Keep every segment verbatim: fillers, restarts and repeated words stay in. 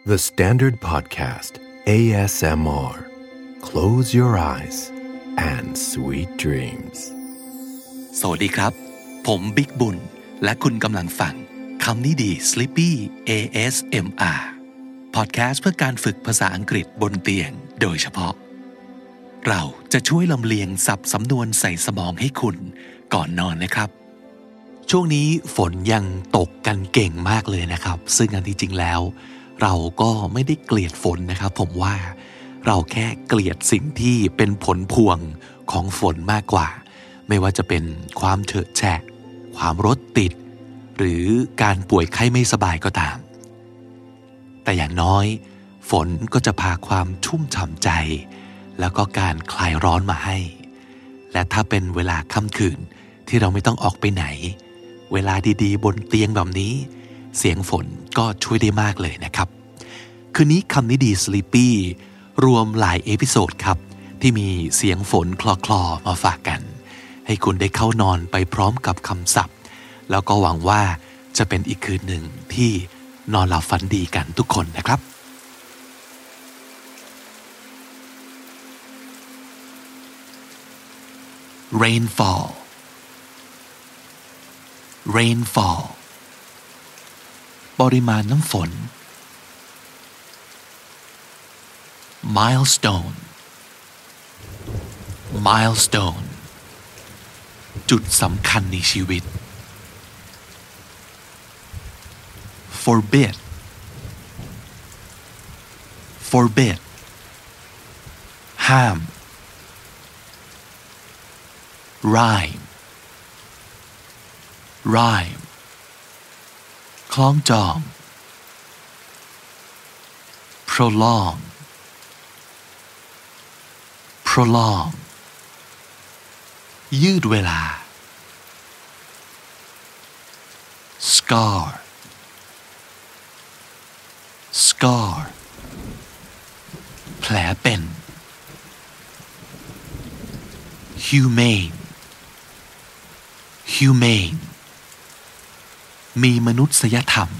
The Standard Podcast เอ เอส เอ็ม อาร์ Close your eyes and sweet dreams สวัสดีครับผมบิ๊กบุญและคุณกำลังฟังคำนี้ดี Sleepy เอ เอส เอ็ม อาร์ Podcast เพื่อการฝึกภาษาอังกฤษบนเตียงโดยเฉพาะเราจะช่วยลำเลียงศัพท์สำนวนใส่สมองให้คุณก่อนนอนนะครับช่วงนี้ฝนยังตกกันเก่งมากเลยนะครับซึ่งอันที่จริงแล้วเราก็ไม่ได้เกลียดฝนนะครับผมว่าเราแค่เกลียดสิ่งที่เป็นผลพวงของฝนมากกว่าไม่ว่าจะเป็นความเฉอะแฉะความรถติดหรือการป่วยไข้ไม่สบายก็ตามแต่อย่างน้อยฝนก็จะพาความชุ่มฉ่ำใจแล้วก็การคลายร้อนมาให้และถ้าเป็นเวลาค่ำคืนที่เราไม่ต้องออกไปไหนเวลาดีๆบนเตียงแบบนี้เสียงฝนก็ช่วยได้มากเลยนะครับคืนนี้คำนี้ดี Sleepy รวมหลายเอพิโซดครับที่มีเสียงฝนคลอๆมาฝากกันให้คุณได้เข้านอนไปพร้อมกับคำศัพท์แล้วก็หวังว่าจะเป็นอีกคืนหนึ่งที่นอนหลับฝันดีกันทุกคนนะครับ Rainfall Rainfall ปริมาณน้ำฝน Milestone Milestone จุดสำคัญในชีวิต Forbid Forbid ห้าม Rhyme Rhyme คล้องจอง Prolong Prolong ยืดเวลา Scar Scar แผลเป็น Humane Humane มีมนุษยธรรม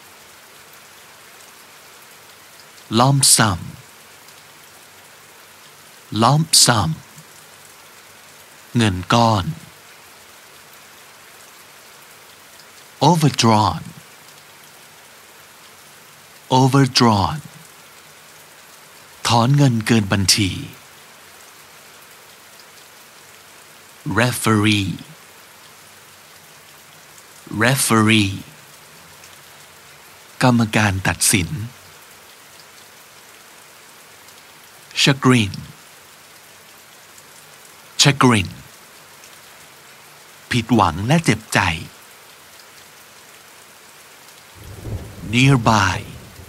Lump sum Lump sum เงินก้อน Overdrawn Overdrawn ถอนเงินเกินบัญชี Referee Referee กรรมการตัดสิน Chagrin Chagrin ผิดหวังและเจ็บใจ Nearby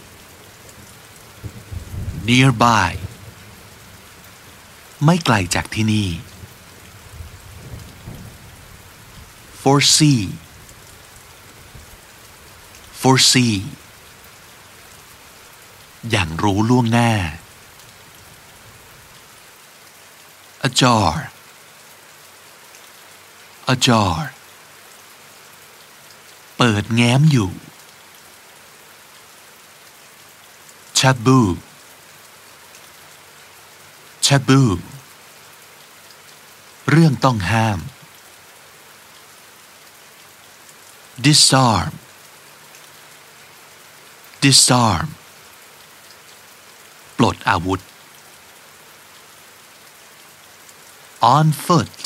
Nearby ไม่ไกลจากที่นี่ Foresee Foresee อย่างรู้ล่วงหน้า Ajar Ajar เปิดแง้มอยู่ Taboo Taboo เรื่องต้องห้าม Disarm Disarm ปลดอาวุธ On foot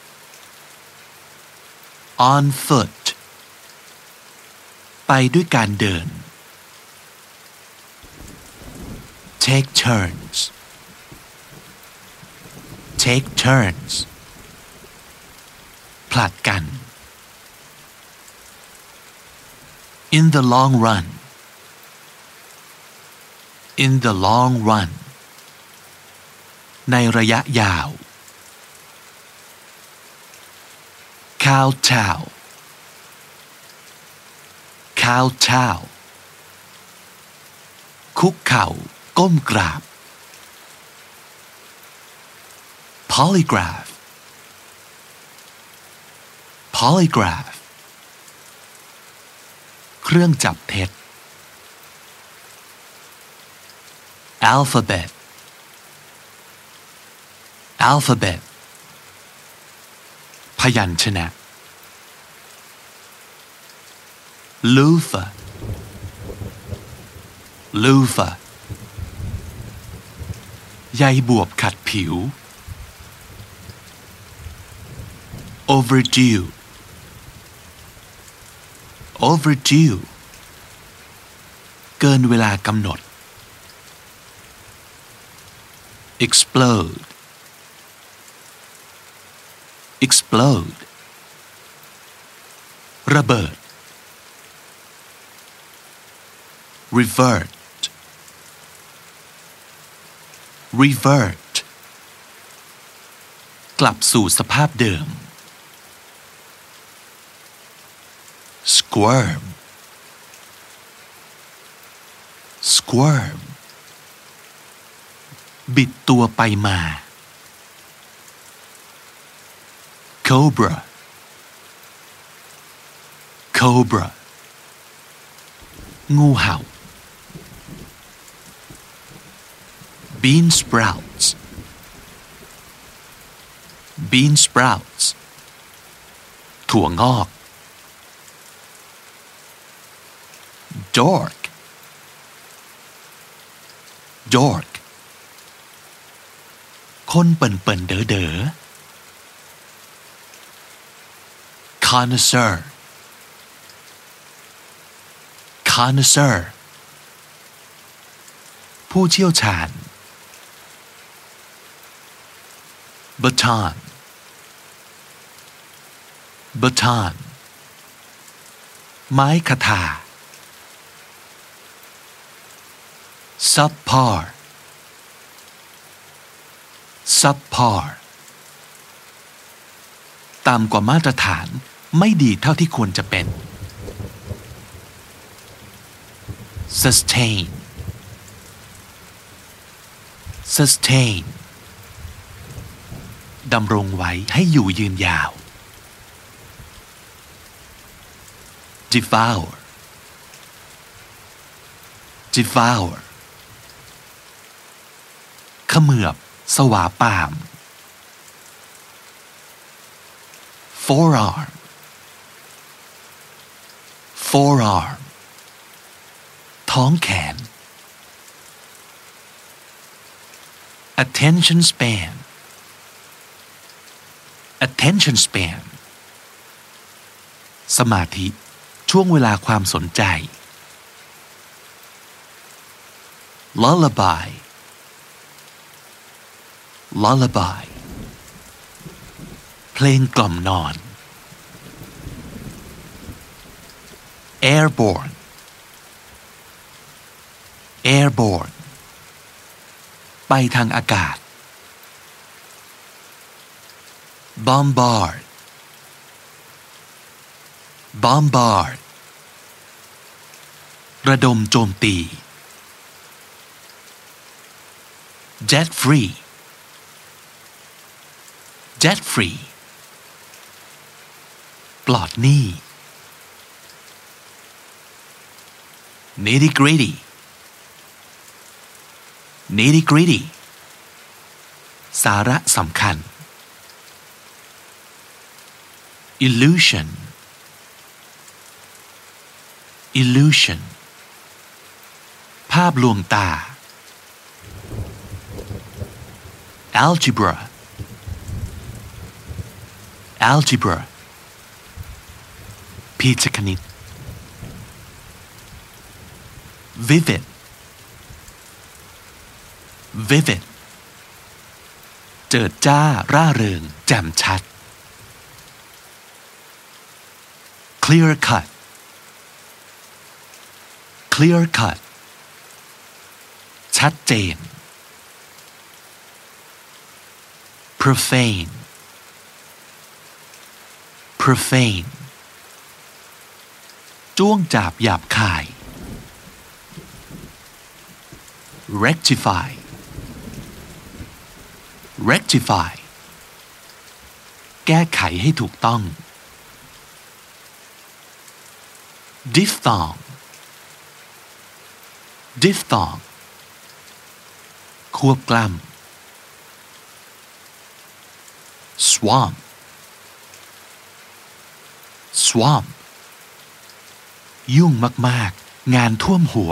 On foot ไปด้วยการเดิน Take turns Take turns ผลัดกัน In the long run In the long run ในระยะยาว Kowtow Kowtow คุกเข่าก้มกราบ Polygraph Polygraph เครื่องจับเท็จ alphabet alphabet พยัญชนะ loofah loofah ใยบวบขัดผิว overdue overdue เกินเวลากำหนด explode explode ระเบิด revert revert กลับสู่สภาพเดิม squirm squirm บิดตัวไปมา cobra cobra งูเห่า bean sprouts bean sprouts ถั่วงอก dork dork คนเปิ่นๆเด๋อๆ connoisseur connoisseur ผู้เชี่ยวชาญ baton baton ไม้คทา subpar subpar ต่ำกว่ามาตรฐานไม่ดีเท่าที่ควรจะเป็น sustain sustain ดำรงไว้ให้อยู่ยืนยาว devour devour เขมือบสวาปาม forearm forearm ท้องแขน attention span attention span สมาธิช่วงเวลาความสนใจ lullaby lullaby เพลงกล่อมนอน airborne airborne ไปทางอากาศ bombard bombard ระดมโจมตี jet free jet free ปลอดหนี้ nitty gritty nitty gritty สาระสำคัญ illusion illusion ภาพลวงตา algebra algebra พีจคณิต vivid vivid เจิดจ้าร่าเริงแจ่มชัด clear cut clear cut ชัดเจน profane profane จ้วงจาบหยาบคาย rectify rectify แก้ไขให้ถูกต้อง diphthong diphthong ควบกล้ำ swamp swamp ยุ่งมากๆงานท่วมหัว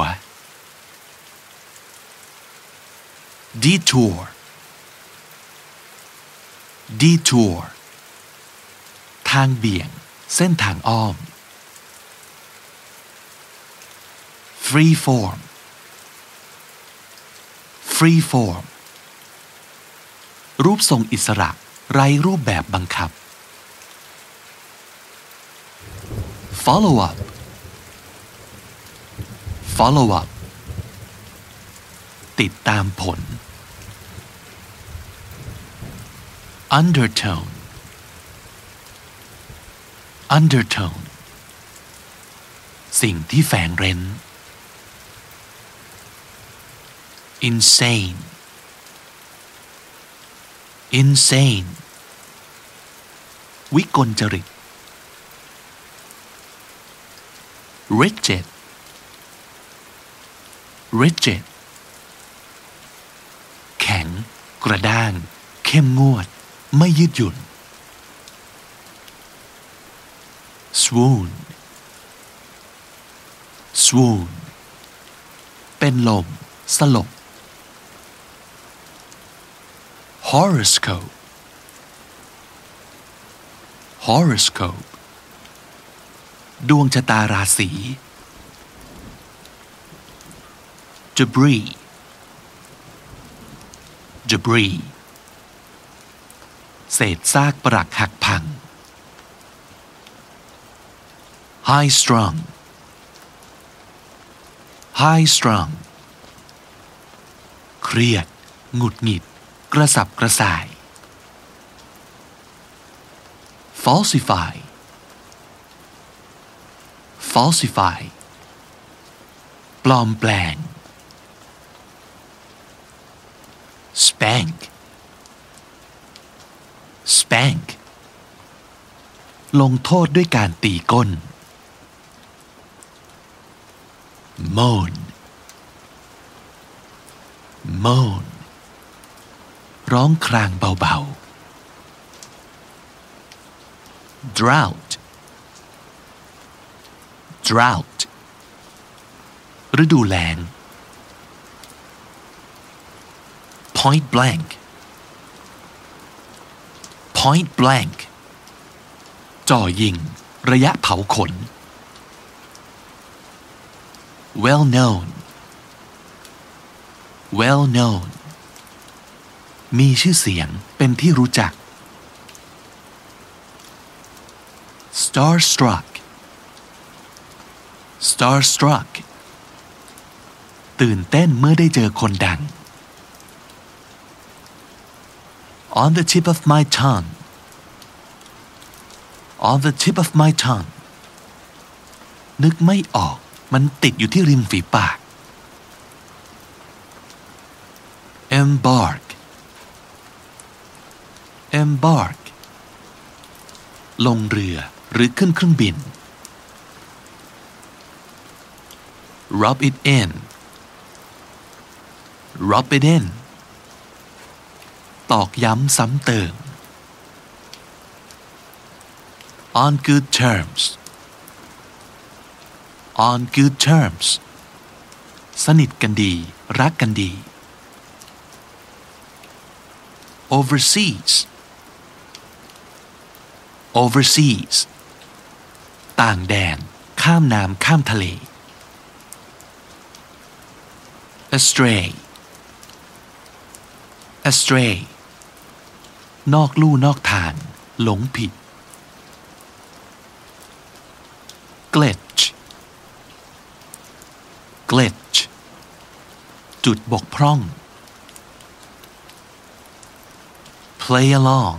detour detour ทางเบี่ยงเส้นทางอ้อม free form free form รูปทรงอิสระไร้รูปแบบบังคับ follow up follow up ติดตามผล undertone undertone สิ่งที่แฝงเร้น insane insane วิกลจริต rigid rigid แข็งกระด้างเข้มงวดไม่ยืดหยุ่น swoon swoon เป็นลมสลบ horoscope horoscope ดวงชะตาราศี debris debris เศษซากปรักหักพัง high strung high strung เครียดหงุดหงิดกระสับกระส่าย falsify falsify ปลอมแปลง spank spank ลงโทษด้วยการตีก้น moan moan ร้องครางเบาๆ drought drought ฤดูแล้ง point blank point blank จ่อยิงระยะเผาขน well known well known มีชื่อเสียงเป็นที่รู้จัก starstruck starstruck ตื่นเต้นเมื่อได้เจอคนดัง on the tip of my tongue on the tip of my tongue นึกไม่ออกมันติดอยู่ที่ริมฝีปาก embark embark ลงเรือหรือขึ้นเครื่องบิน rub it in rub it in ตอกย้ำซ้ำเติม on good terms on good terms สนิทกันดีรักกันดี overseas overseas ต่างแดนข้ามน้ำข้ามทะเล astray astray นอกลู่นอกทางหลงผิด glitch glitch จุดบกพร่อง play along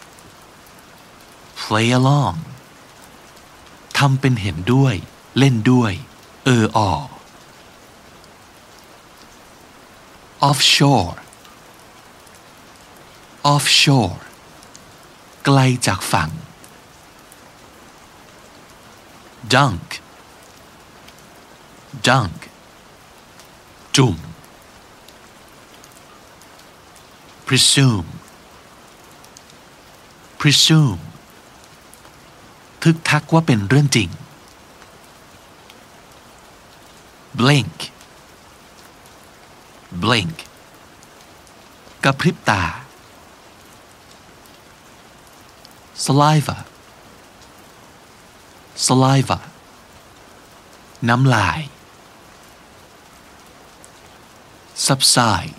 play along ทำเป็นเห็นด้วยเล่นด้วยเอออ offshore offshore ไกลจากฝั่ง dunk dunk จุ่ม presume presume ทึกทักว่าเป็นเรื่องจริง blink blink กระพริบตา saliva saliva น้ำลาย subside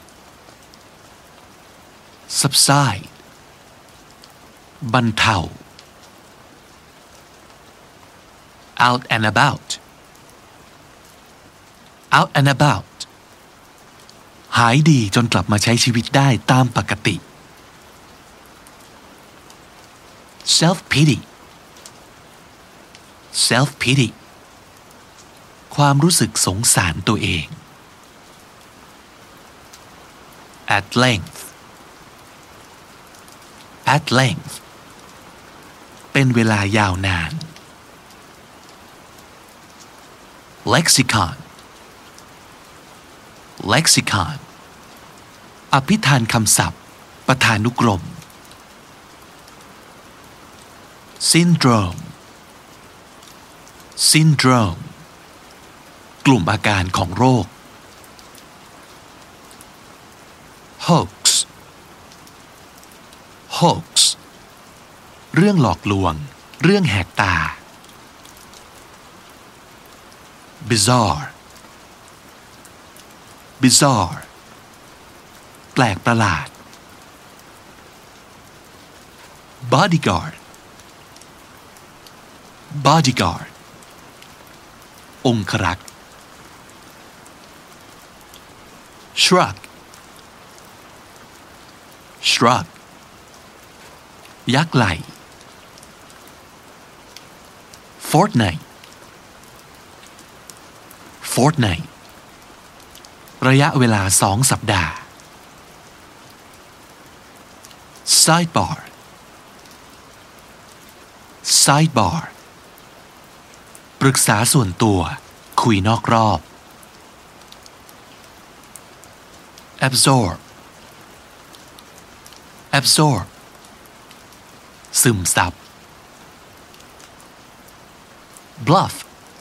subside บรรเทา out and about out and about หายดีจนกลับมาใช้ชีวิตได้ตามปกติ self pity self pity ความรู้สึกสงสารตัวเอง at length at length เป็นเวลายาวนาน lexicon lexicon อภิธานคำศัพท์ประธานุกรม syndrome syndrome กลุ่มอาการของโรค hoax hoax เรื่องหลอกลวงเรื่องแหกตา bizarre bizarre แปลกประหลาด bodyguard bodyguard องครักษ์ shrug shrug ยักไหล่ fortnight fortnight ระยะเวลาสองสัปดาห์ sidebar sidebar ปรึกษาส่วนตัวคุยนอกรอบ absorb absorb ซึมซับ bluff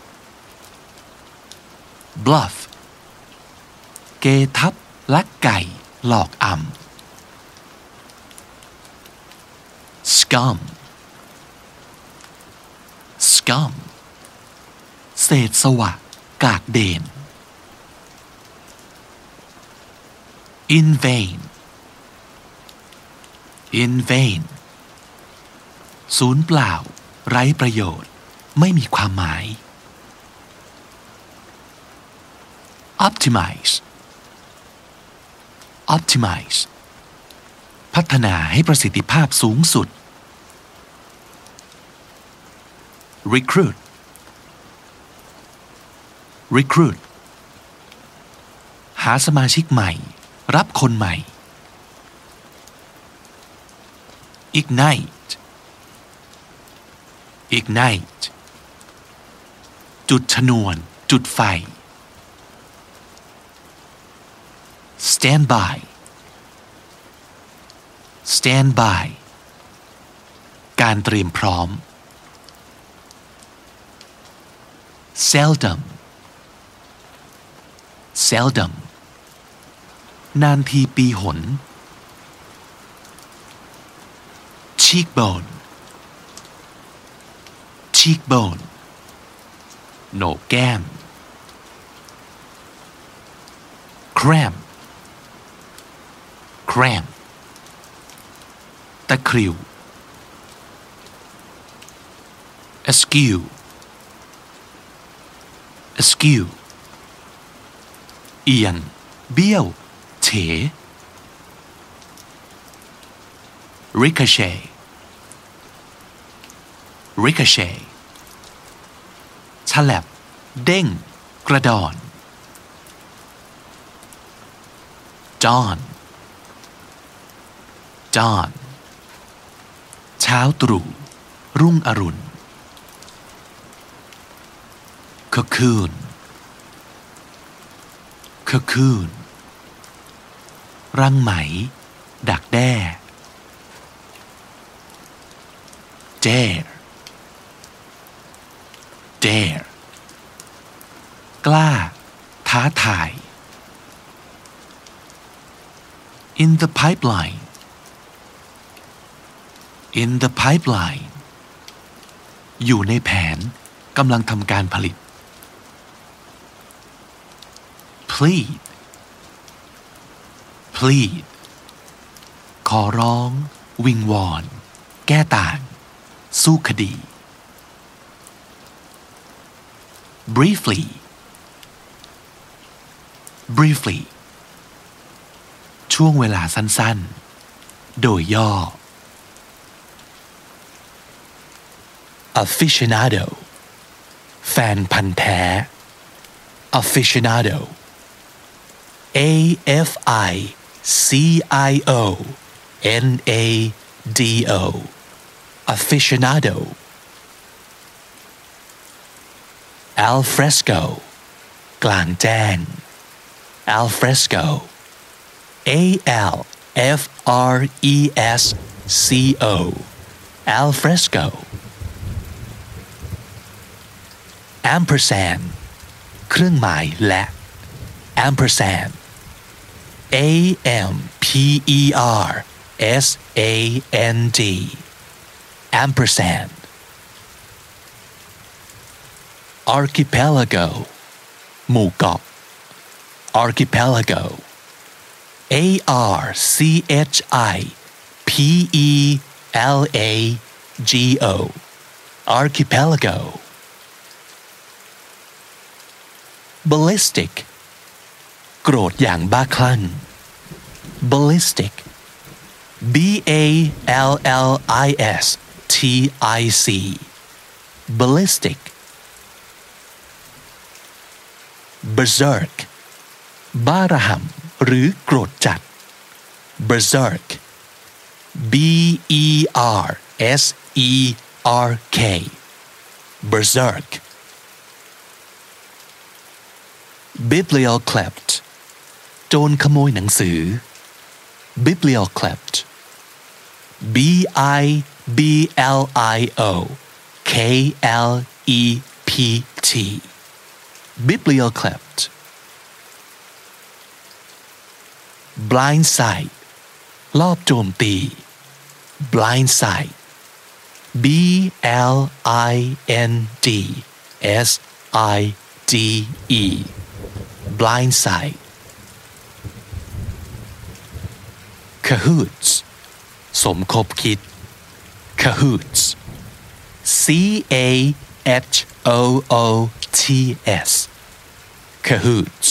bluff เกทับลักไก่หลอกอำ scum scum เศษสวะกากเดน in vain in vain ศูนย์เปล่าไร้ประโยชน์ไม่มีความหมาย optimize optimize พัฒนาให้ประสิทธิภาพสูงสุด recruit recruit หาสมาชิกใหม่รับคนใหม่ ignite ignite จุดชนวนจุดไฟ stand by stand by การเตรียมพร้อม seldom seldom นานทีปีหน cheekbone cheekbone โหนกแก้ม cramp cramp ตะคริว askew askew เอียงเบี้ยวเฉ ricochet ricochet ฉลับเด้งกระดอน dawn dawn เช้าตรู่รุ่งอรุณ cocoon cocoon รังไหมดักแด้ dare dare กล้าท้าทาย in the pipeline in the pipeline อยู่ในแผนกำลังทำการผลิต plead plead ขอร้องวิงวอนแก้ต่างสู้คดี briefly briefly ช่วงเวลาสั้นๆโดยย่อ aficionado แฟนพันธุ์แท้ aficionado A F I C I O N A D O aficionado al fresco กลางแจ้ง al fresco A L F R E S C O al fresco ampersand เครื่องหมายและ ampersand A M P E R S A N D ampersand archipelago หมู่เกาะ archipelago A R C H I P E L A G O archipelago ballistic โกรธอย่างบ้าคลั่ง ballistic B A L L I S T I C ballistic berserk บ้าระห่ำหรือโกรธจัด berserk B E R S E R K berserk biblioclept โจรขโมยหนังสือ biblioclept B I B L I O K L E P T biblioclept blindside ลอบโจมตี blindside B L I N D S I D E blindside cahoots สมคบคิด cahoots C A H O O T S cahoots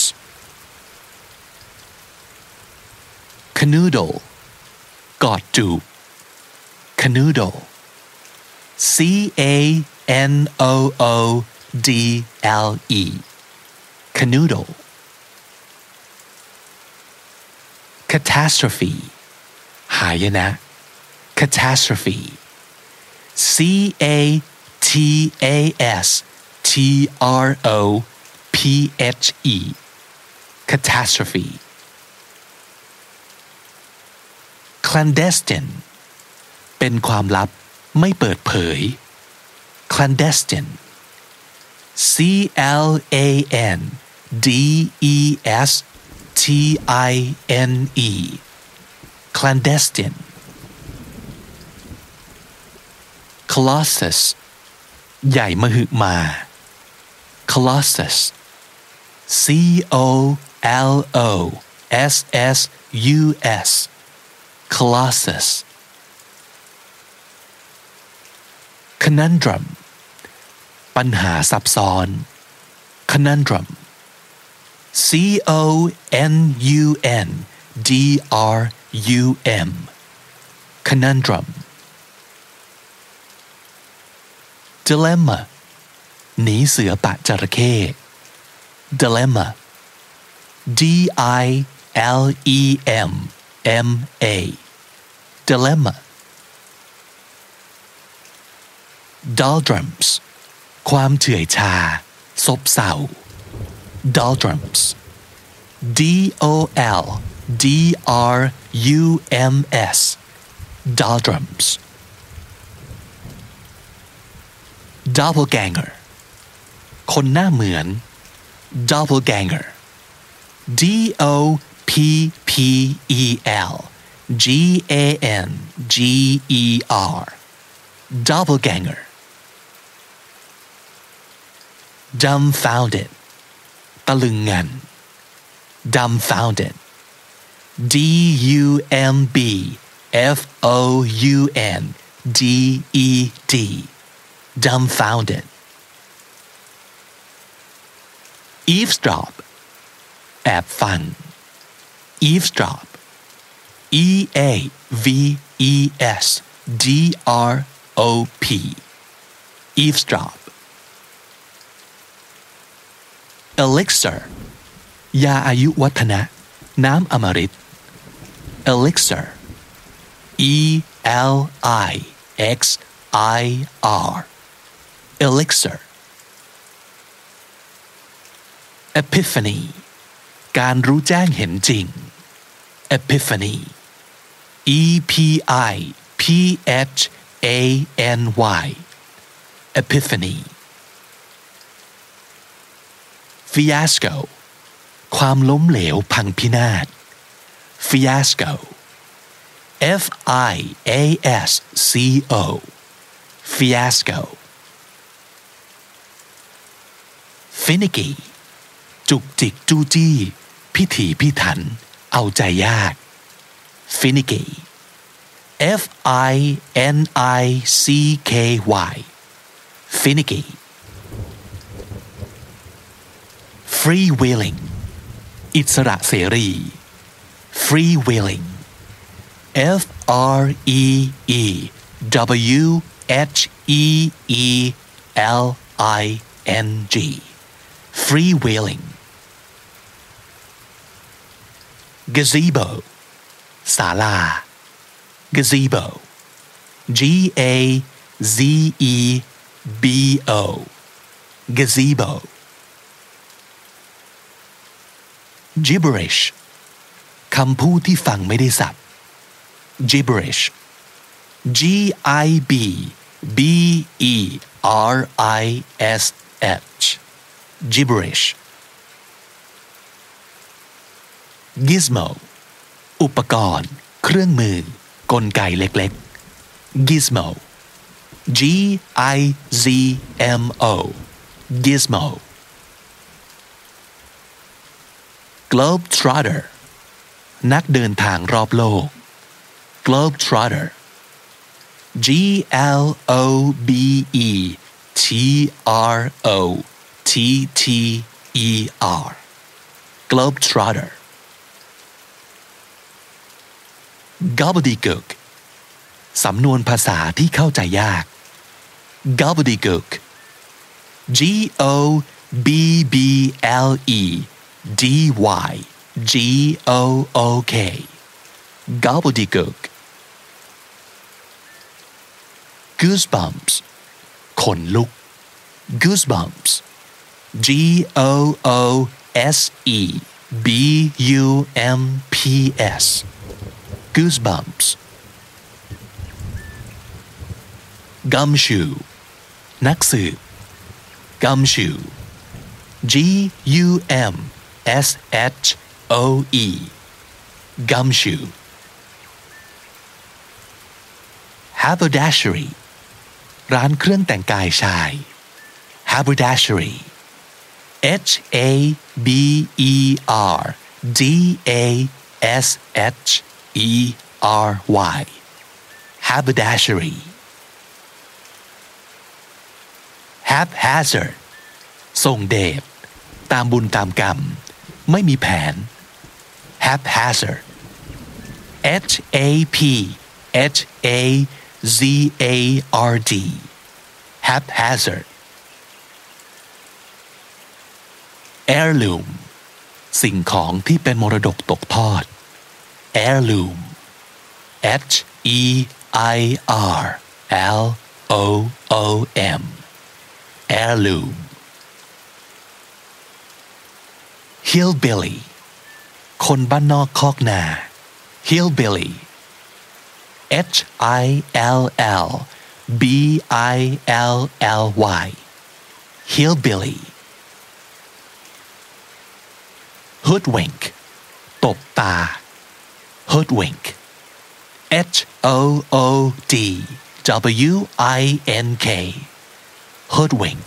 canoodle กอดจูบ canoodle C A N O O D L E canoodle catastrophe หายนะ catastrophe C A T A S T R O P H E catastrophe clandestine เป็นความลับไม่เปิดเผย clandestine C L A N D E S T I N E clandestine colossus ใหญ่มหึมา colossus C O L O S S U S colossus conundrum ปัญหาซับซ้อน conundrum C O N U N D R U M conundrum dilemma หนีเสือปะจระเข้ dilemma D I L E M M A dilemma doldrums ความเฉื่อยชาซบเซา doldrums D O L D R U M S doldrums doppelganger คนหน้าเหมือน doppelganger D O P P E L G A N G E R doppelganger dumbfounded ตะลึงงัน dumbfounded D U M B F O U N D E D dumbfounded eavesdrop แอบฟัง eavesdrop E A V E S D R O P eavesdrop elixir ยาอายุวัฒนะน้ำอมฤต elixir E L I X I R elixir epiphany การรู้แจ้งเห็นจริง epiphany E P I P H A N Y epiphany fiasco ความล้มเหลวพังพินาศ fiasco F I A S C O fiasco finicky จุกจิกจู้จี้พิถีพิถันเอาใจยาก finicky F I N I C K Y finicky freewheeling อิสระเสรี freewheeling F R E E W H E E L I N G freewheeling gazebo ศาลา gazebo G A Z E B O gazebo gibberish คำพูดที่ฟังไม่ได้สับ gibberish G I B B E R I S H gibberish gizmo อุปกรณ์เครื่องมือกลไกเล็กๆ gizmo G I Z M O gizmo globetrotter นักเดินทางรอบโลก globetrotter G L O B E T R O T T E R globetrotter gobbledygook สำนวนภาษาที่เข้าใจยาก gobbledygook G O B B L E D Y G O O K gobbledygook goosebumps ขนลุก goosebumps G O O S E B U M P S goosebumps gumshoe นักสืบ gumshoe G U M S H O E gumshoe haberdashery ร้านเครื่องแต่งกายชาย haberdashery H A B E R D A S H E R Y haberdashery haphazard ส่งเดชตามบุญตามกรรมไม่มีแผน haphazard H A P H A Z A R D haphazard heirloom สิ่งของที่เป็นมรดกตกทอด heirloom H E I R L O O M heirloom hillbilly คนบ้านนอกคอกนา hillbilly H I L L B I L L Y hillbilly hoodwink ตบตา hoodwink H O O D W I N K hoodwink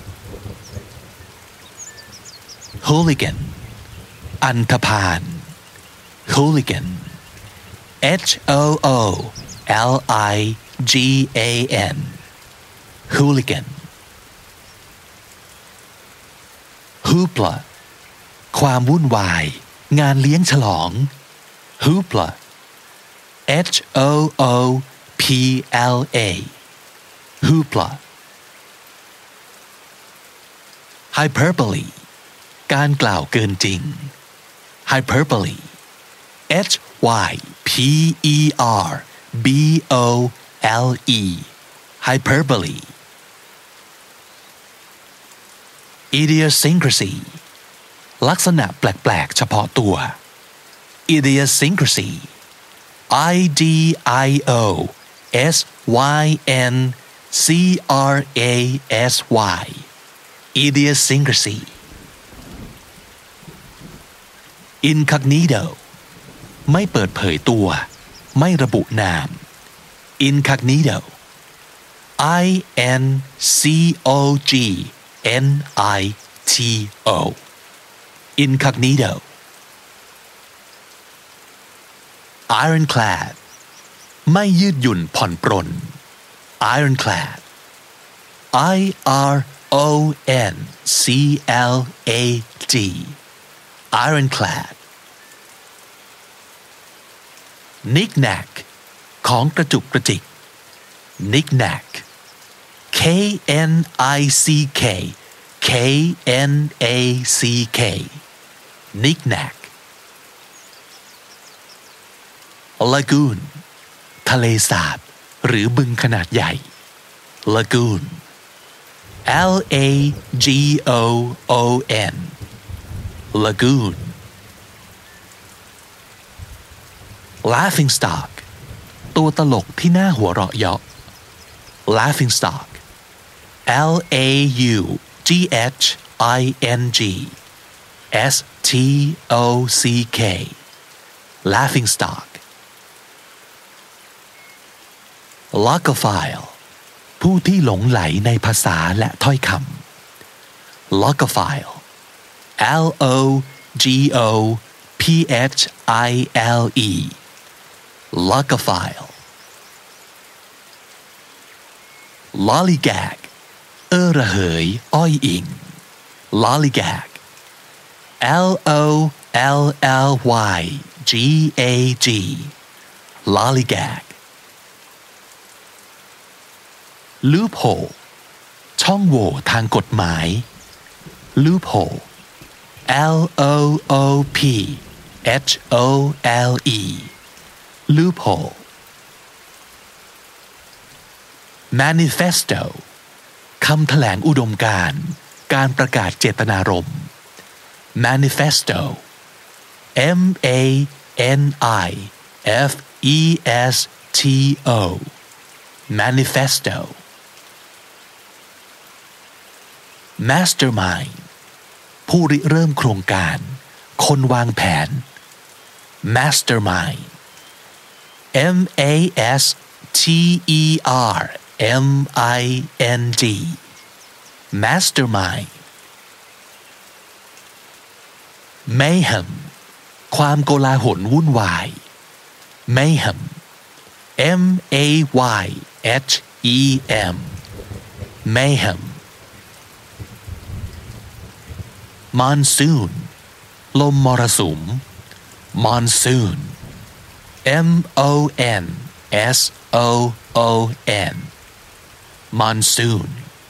hooligan อันธพาล hooligan H O O L I G A N hooligan hoopla ความวุ่นวายงานเลี้ยงฉลอง hoopla H O O P L A hoopla hyperbole การกล่าวเกินจริง hyperbole H Y P E R B O L E hyperbole idiosyncrasy ลักษณะแปลกๆเฉพาะตัว idiosyncrasy I D I O S Y N C R A S Y idiosyncrasy incognito ไม่เปิดเผยตัวไม่ระบุนาม incognito I N C O G N I T O incognito ironclad ไม่ยืดหยุ่นผ่อนปรน ironclad I R O N C L A D ironclad knick-knack ของกระจุกกระจิก knick-knack K N I C K K N A C K knick-knack lagoon ทะเลสาบหรือบึงขนาดใหญ่ lagoon L A G O O N lagoon laughing stock ตัวตลกที่น่าหัวเราะเยาะ laughing stock L A U G H I N G S T O C K laughing stock logophile ผู้ที่หลงไหลในภาษาและถ้อยคำ logophile L O G O P H I L E logophile lollygag เอ้อระเหยอ้อยอิง lollygag L O L L Y G A G lollygag loophole ช่องโหว่ทางกฎหมาย loophole L O O P H O L E loophole manifesto คำแถลงอุดมการณ์การประกาศเจตนารมณ์ manifesto M A N I F E S T O manifesto mastermind ผู้ริเริ่มโครงการคนวางแผน mastermind M A S T E R M I N D mastermind mayhem ความโกลาหลวุ่นวาย mayhem M A Y H E M mayhem monsoon ลมมรสุม monsoon M O N S O O N monsoon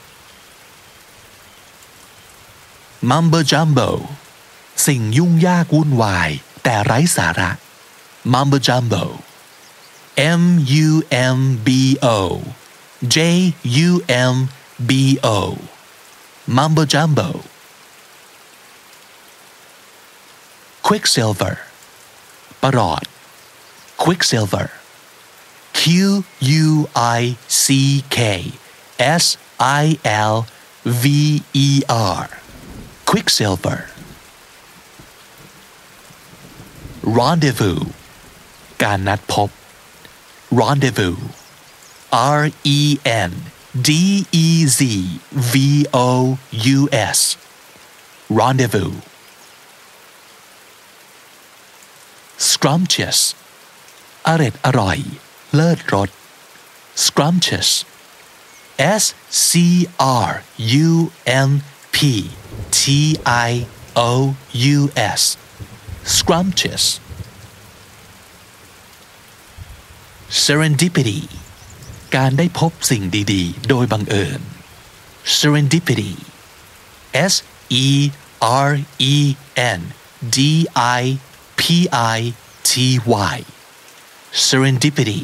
mumbo jumbo สิ่งยุ่งยากวุ่นวายแต่ไร้สาระ mumbo jumbo M U M B O J U M B O mumbo jumbo quicksilver ประหลอด Quicksilver Q U I C K S I L V E R Quicksilver Rendezvous การนัดพบ Rendezvous R E N D E Z V O U S Rendezvous Scrumptious อร่อยอร่อยเลิศรส Scrumptious S C R U M P T I O U S Scrumptious Serendipity การได้พบสิ่งดีๆโดยบังเอิญ Serendipity S E R E N D I P I T Y Serendipity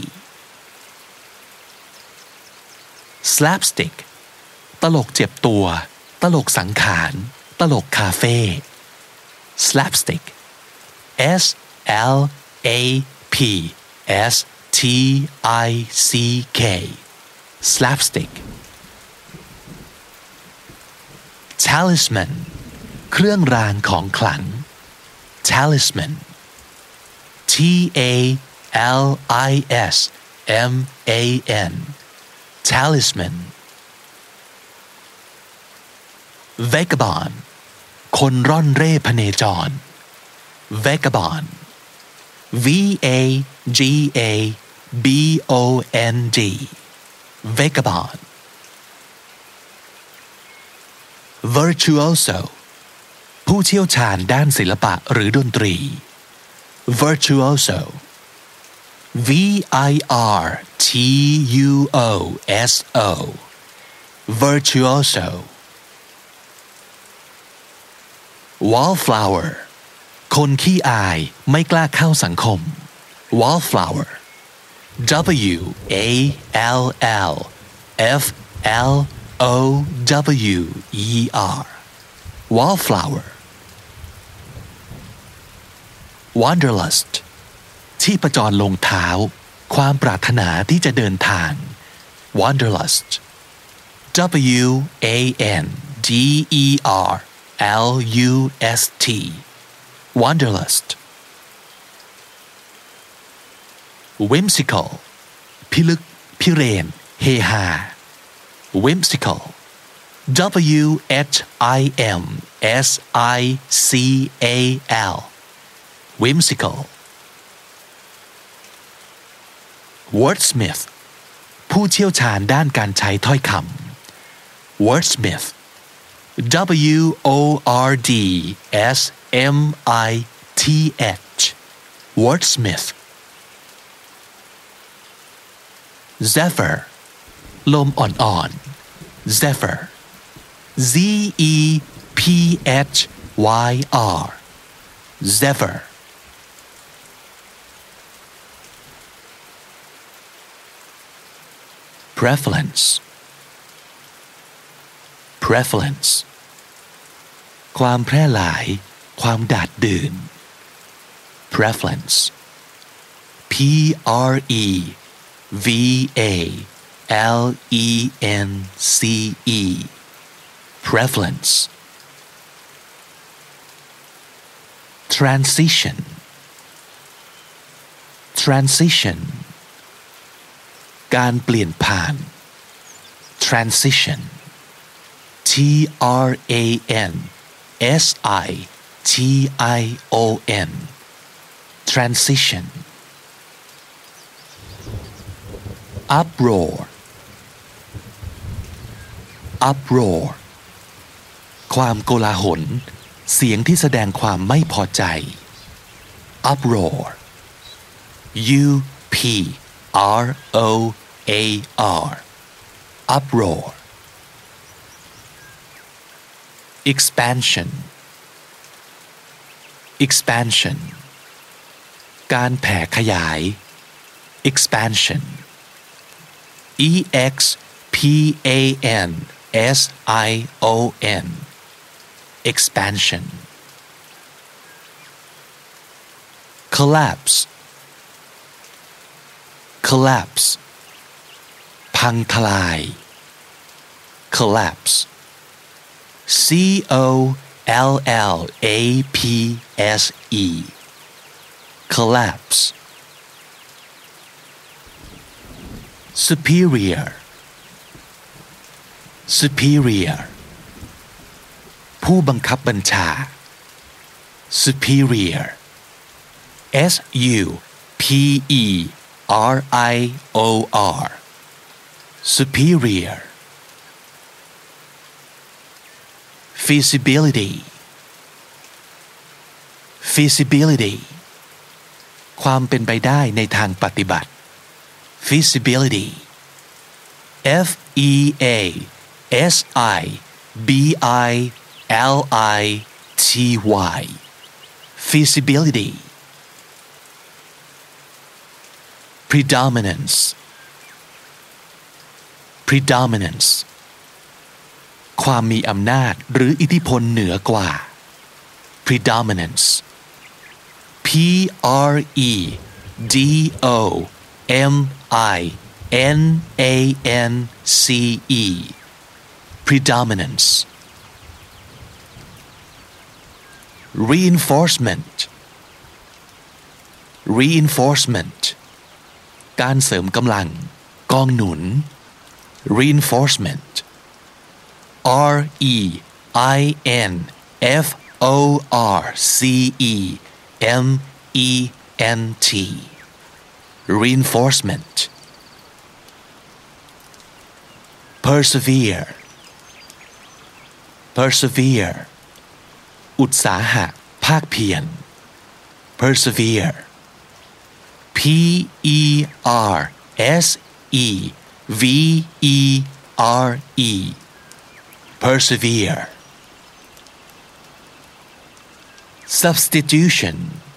Slapstick ตลกเจ็บตัวตลกสังขารตลกคาเฟ่ Slapstick S L A P S T I C K Slapstick Talisman เครื่องรางของขลัง Talisman T A L I S M A N Talisman Vagabond คนร่อนเร่พเนจร Vagabond V A G A B O N D Vagabond Virtuoso ผู้เชี่ยวชาญด้านศิลปะหรือดนตรี Virtuoso V I R T U O S O Virtuoso Wallflower คนขี้อายไม่กล้าเข้าสังคม Wallflower W A L L F L O W E R Wallflower Wanderlust ที่ประจรลงเท้าความปรารถนาที่จะเดินทาง Wanderlust W A N D E R L U S T Wanderlust Whimsical พิลึกพิเรนเฮฮา Whimsical W H I M S I C A L Whimsical Wordsmith ผู้เชี่ยวชาญด้านการใช้ถ้อยคำ Wordsmith W O R D S M I T H Wordsmith Zephyr ลมอ่อนๆ Zephyr Z E P H Y R Zephyr Prevalence Prevalence ความแพร่หลายความดาดดื่น Prevalence P R E V A L E N C E Prevalence Transition Transition การเปลี่ยนผ่าน Transition T R A N S I T I O N Transition Uproar Uproar ความโกลาหลเสียงที่แสดงความไม่พอใจ Uproar U P R O A R Uproar Expansion Expansion การแผ่ขยาย Expansion E X P A N S I O N Expansion collapse collapse พังทลาย collapse C O L L A P S E collapse superior superior ผู้บังคับบัญชา superior S U P E R I O R superior feasibility feasibility ความเป็นไปได้ในทางปฏิบัติ feasibility F E A S I B I L I T Y feasibility predominance predominance ความมีอำนาจหรืออิทธิพลเหนือกว่า predominance P R E D O M I N A N C E predominance reinforcement reinforcement การเสริมกำลังกองหนุน reinforcement R E I N F O R C E M E N T reinforcement persevere persevere อุตสาหะภาคเพียร persevere P E R S E V E R E persevere substitution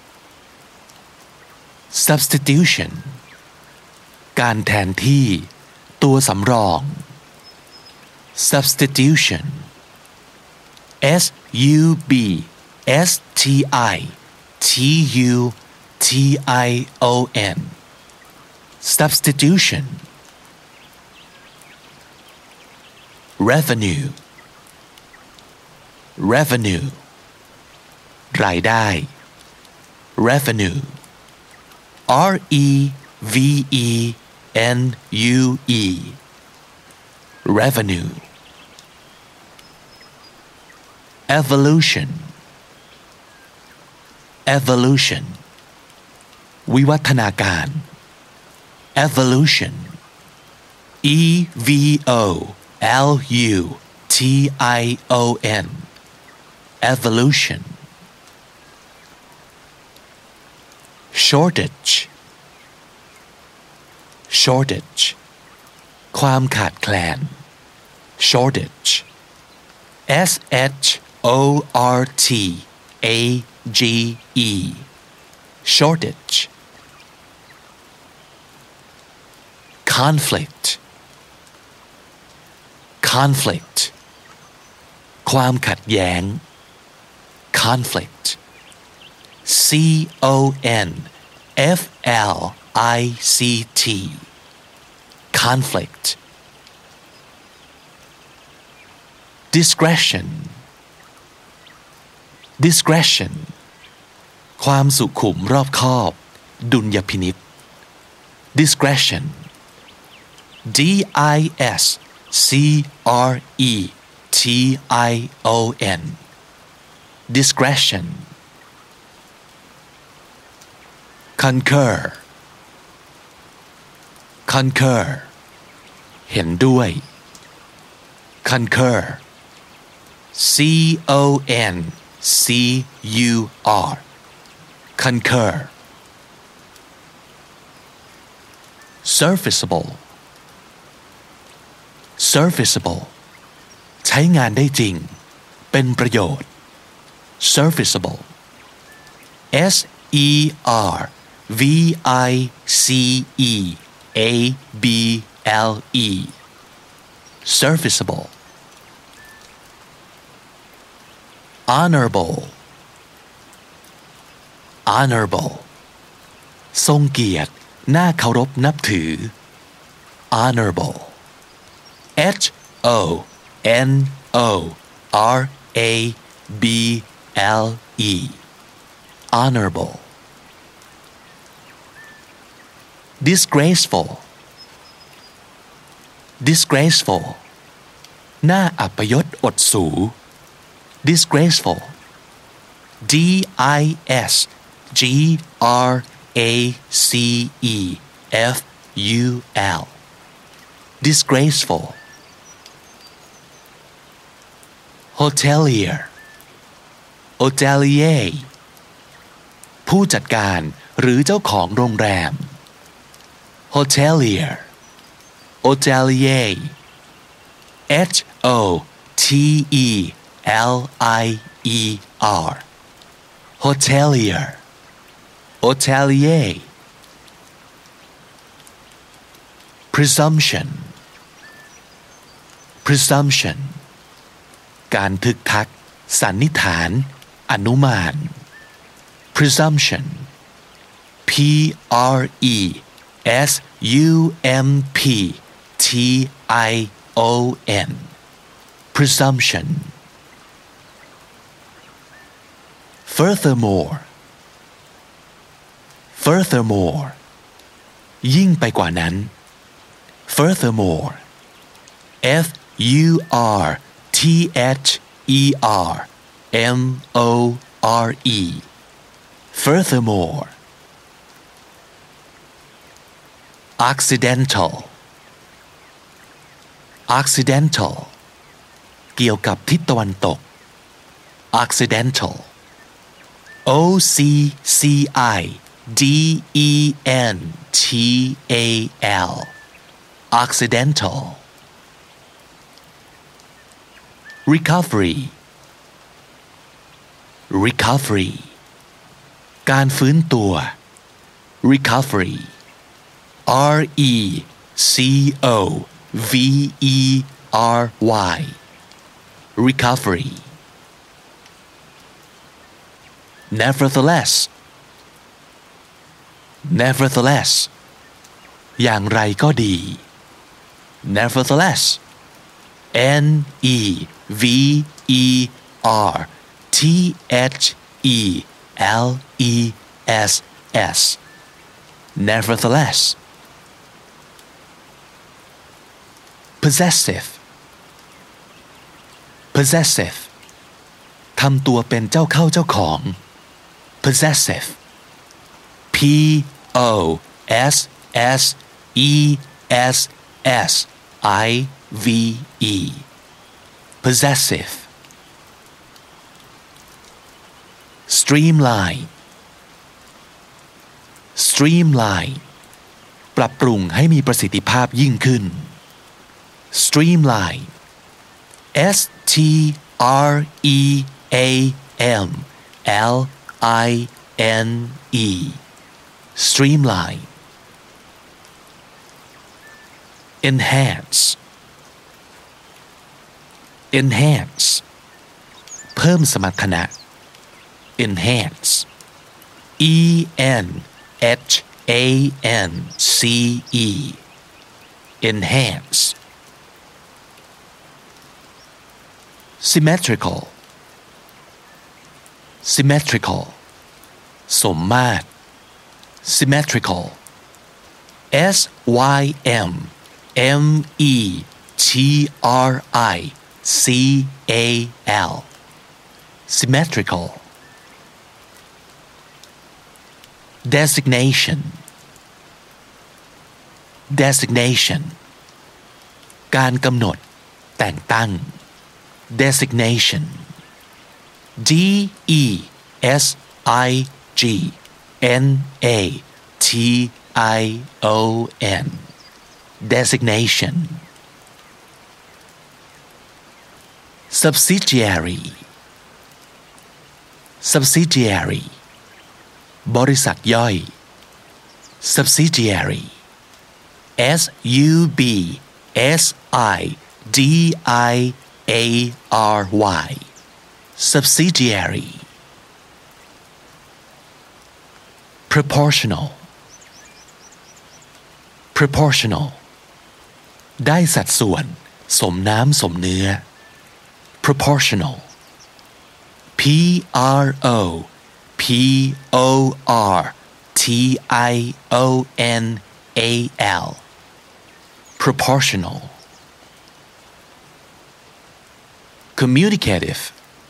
substitution การแทนที่ตัวสำรอง substitution S U B S T I T U T I O N substitution revenue revenue รายได้ revenue R E V E N U E revenue evolution evolution วิวัฒนาการ evolution E V O L U T I O N evolution shortage shortage ความขาดแคลน shortage S H O R T A G E shortage conflict conflict ความขัดแย้ง conflict C O N F L I C T conflict discretion discretion ความสุขุมรอบคอบดุลยพินิจ discretion D I S C R E T I O N discretion concur concur เห็นด้วย concur C O N C U R concur serviceable serviceable ใช้งานได้จริงเป็นประโยชน์ serviceable S E R V I C E A B L E serviceable honorable honorable ทรงเกียรติน่าเคารพนับถือ honorable H O N O R A B L E honorable disgraceful disgraceful น่าอัปยศอดสู disgraceful D I S G R A C E F U L disgraceful hotelier hotelier ผู้จัดการหรือเจ้าของโรงแรม hotelier hotelier H O T E L I E R hotelier hotelier presumption presumption การทึกทักสันนิษฐานอนุมาน presumption P R E S U M P T I O N presumption furthermore furthermore ยิ่งไปกว่านั้น furthermore F U R T H E R M O R E furthermore accidental accidental เกี่ยวกับทิศตะวันตก accidental O C C I D E N T A L accidental recovery recovery การฟื้นตัว recovery R E C O V E R Y recovery nevertheless nevertheless อย่างไรก็ดี nevertheless N E V E R T H E L E S S nevertheless possessive possessive ทำตัวเป็นเจ้าเข้าเจ้าของ possessive P O S S E S S I V E possessive streamline streamline ปรับปรุงให้มีประสิทธิภาพยิ่งขึ้น streamline S T R E A M L I N E streamline enhance enhance เพิ่มสมรรถนะ enhance E N H A N C E enhance symmetrical symmetrical สมมาตร symmetrical S Y M M E T R I C A L symmetrical designation designation การกำหนดแต่งตั้ง designation D E S I G N A T I O N designation subsidiary subsidiary บริษัทย่อย subsidiary S U B S I D I A R Y subsidiary proportional proportional ได้สัดส่วนสมน้ำสมเนื้อ proportional P R O P O R T I O N A L proportional communicative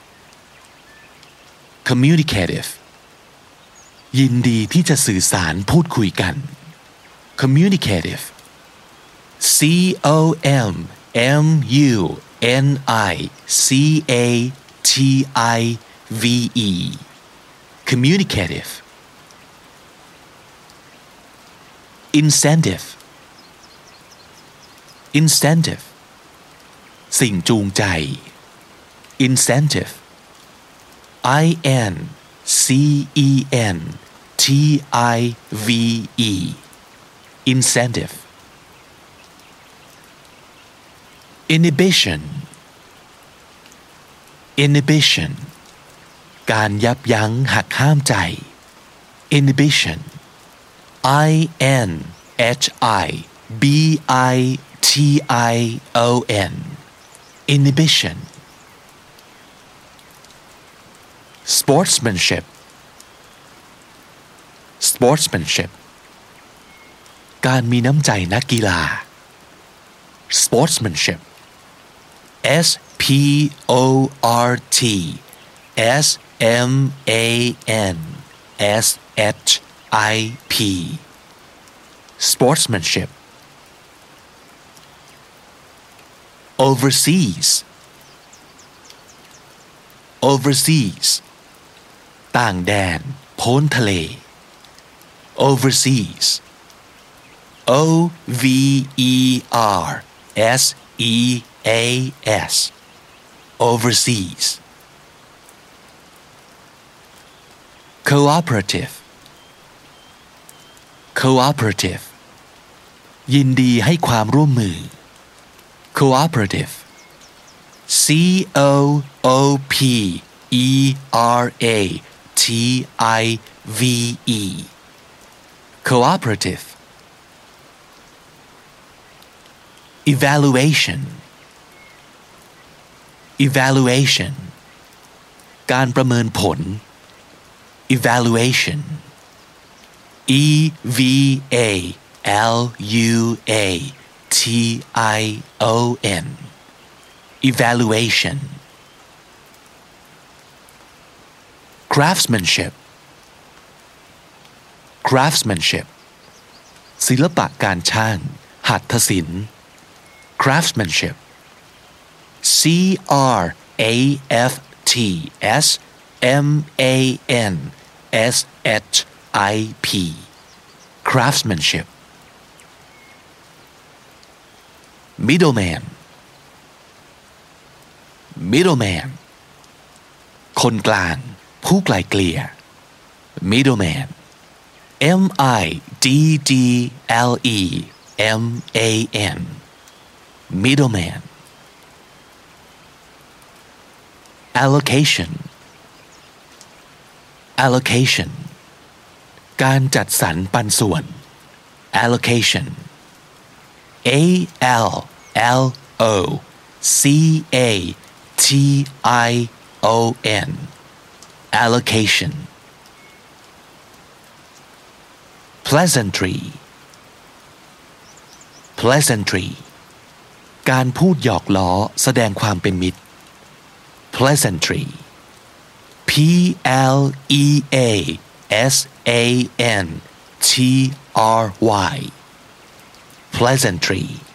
communicative ยินดีที่จะสื่อสารพูดคุยกัน communicative C O M M U N I C A T I V E communicative incentive incentive สิ่งจูงใจ incentive I N C E N T I V E incentive inhibition inhibition การยับยั้งหักห้ามใจ inhibition I N H I B I T I O N inhibition sportsmanship sportsmanship การมีน้ำใจนักกีฬา sportsmanship S P O R T S M A N S H I P sportsmanship overseas overseas ต่างแดนพ้นทะเล overseas O V E R S E A S overseas cooperative cooperative ยินดีให้ความร่วมมือ cooperative C O O P E R A T I V E cooperative evaluation evaluation การประเมินผล evaluation E V A L U A T I O N evaluation craftsmanship craftsmanship ศิลปะการช่างหัตถศิลป์ craftsmanship C R A F T S M A N S H I P craftsmanship middleman middleman คนกลางผู้ไกลเกลี่ย middleman M I D D L E M A N middleman allocation allocation การจัดสรรปันส่วน allocation A L L O C A T I O N allocation pleasantry pleasantry การพูดหยอกล้อแสดงความเป็นมิตร pleasantry P L E A S A N T R Y pleasantry